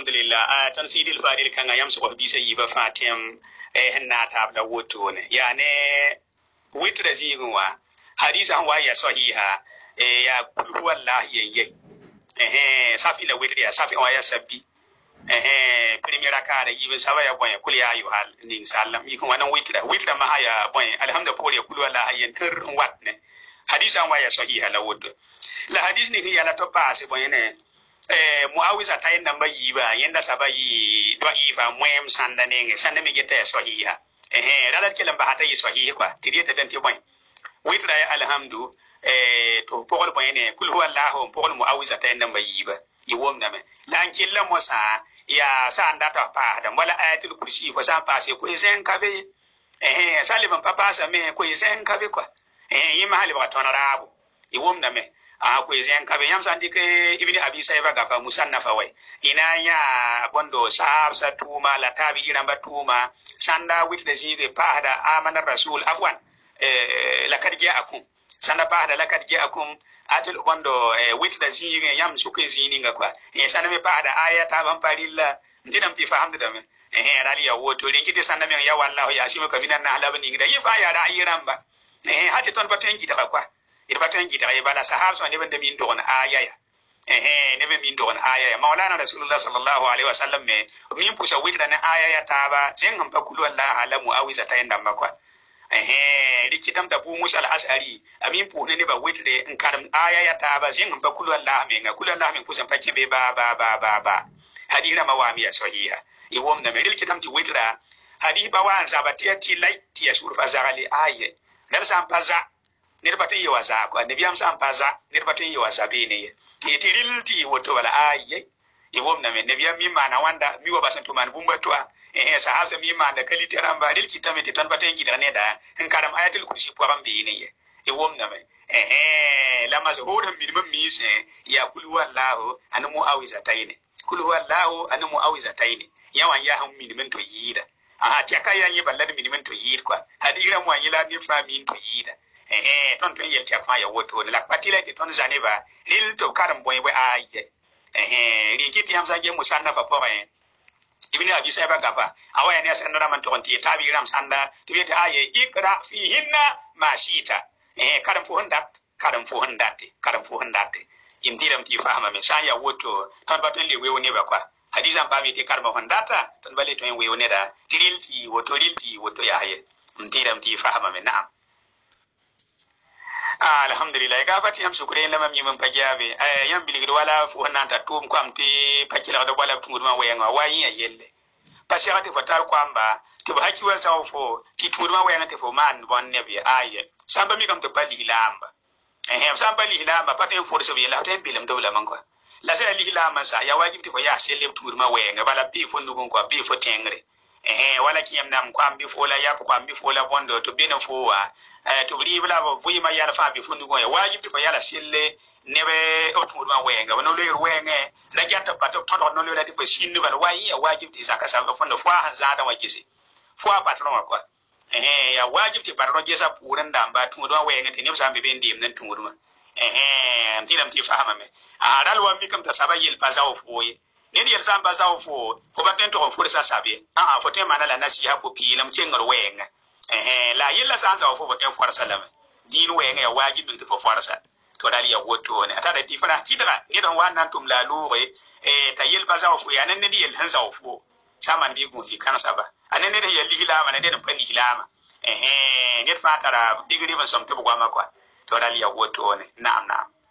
alhamdulillah tan sidil fadil kan yam so bi sai yiba fatim hanna tabla wotone yani witra zigunwa hadisa wa ya sahiha ya kul wallahi ye safi la witra ya safi wa ya sabbi primera kare yibe sawa ya boy kul ya ayu hal ning sallam yi ko wana witra ma haya boy alhamdulillah ya kul wallahi yen ter watne hadisa wa ya sahiha la wotto la hadis ni hiya la to passe boy ne muawiza tayin namba yiba yenda sabayi do ifa muem sanda nenge sanda mi gete sahiha ralat kelam ba hata yi sahihi kwa tidiyata benti boy witra ya alhamdu to pokol boy ne kul huwa allah pokol muawiza tayin namba yiba yiwom name lan killa mosa ya sanda to pa da wala ayatul kursi ko sa passe ko isen kabe saliban papa sa me ko isen kabe kwa yima hali ba tonarabu yiwom name ko isen kabe yam sandi ke ibni abi sayba gafa musannafa way ina ya bondo sahab sa tuma la tabi iramba tuma sanda witde zide pahada amana rasul afwan lakad ja'akum sanda pahada lakad ja'akum atul bondo witde zige yam suke zini ngakwa sanda me pahada ayata ban parilla ndinam ti fahamde dame rali ya woto linkiti sanda me ya wallahu ya sima kabina na halabani ngida yifa ya da iramba hati ton baten gida kwa irbaten gida bala sahab so ne bande min don ayaya ne be min don ayaya maulana rasulullah sallallahu alaihi wasallam me min pusa witra na ayaya taba jen hamba kulu allah alamu awiza tayanda makwa likitam da bu musa al-asari amin pu ne ba witre in karam ayaya taba jen hamba kulu allah me nga kulu allah me pusa pakke be ba hadira mawamiya sahiha iwom na me likitam ti witra hadi ba wan zabatiya ti laiti ya surfa zagali aye dar sam paza nirbatin yi wasa ko annabi am san paza nirbatin yi wasa be ne tirilti woto wala ayi iwom na men nabi mi mana wanda mi wa basan to man bumba to sahaba mi mana kalite ramba dil kitamete tan baten gidra ne da en karam ayatul kursi po ram be ne iwom na men la mazhurum minimum mi se ya kul wallahu anamu awiza tayne kul wallahu anamu awiza tayne yawan ya hum minimum to yida tiaka ya yi ballad minimum to yid kwa hadira mo yila ni famin to yida ton ton yel tiafa ya woto la patila ti ton zaneba lil to karam boy boy aye ri kiti am sange musanna fa pore ibni abi sayba gafa awaya ne sanna man to ti tabi ram sanda ti beta aye ikra fihinna mashita karam fu hundate indiram ti fahama me sanya woto ton baton le wewo ne ba kwa hadizan ba mi ti karma hundata ton bale to en wewo ne da tirilti woto ya haye indiram ti fahama me na'am alhamdulillah gafati am sukure lama mi mun pajabe yam biligir wala fu nanta tum kwam ti pakila do wala tungurma wayenga wayi yelle pasiati fatal kwamba to haki wa sawfo ti tungurma wayenga te fo man bon nebi aye samba mi kam to bali hilamba samba li hilamba paten force bi la ten bilam do la man kwa la sa li hilamba sa ya wajibi fo ya selle tungurma wayenga bala bi fo ndugun kwa bi fo tengre wala kiyam nam kwambi fola yap kwambi fola bondo to beno fowa to blibla bo vuyima yala fa bi fundu goya wajibi fo yala sille nebe otumurma wenga wono le wenge la jatta pato todo no le lati fo sinni bal wayi ya wajibi zaka sa fondo fo han zada wajisi fo patron kwa ya wajibi patron jesa puran damba tumurma wenga te ne sambe ben dim nan tumurma antinam ti fahama me dalwa mi kam ta sabayil pazaw foye ne yel samba zaw fo baten to fo sa sabe fo te manala nasiha fo pilam chengar wenga la yella san zaw fo baten for salama din wenga ya wajibi to fo forsa to dali ya woto ne ata da tifana tidra ne don wannan tum la lure ta yel ba zaw fo ya nan ne yel han zaw fo saman bi gunji kana saba anan ne da yel hilama ne da pani hilama ne fatara digri ban som to bugwa makwa to dali ya woto ne na'am